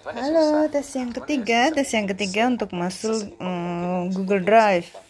Halo, tes yang ketiga untuk masuk Google Drive.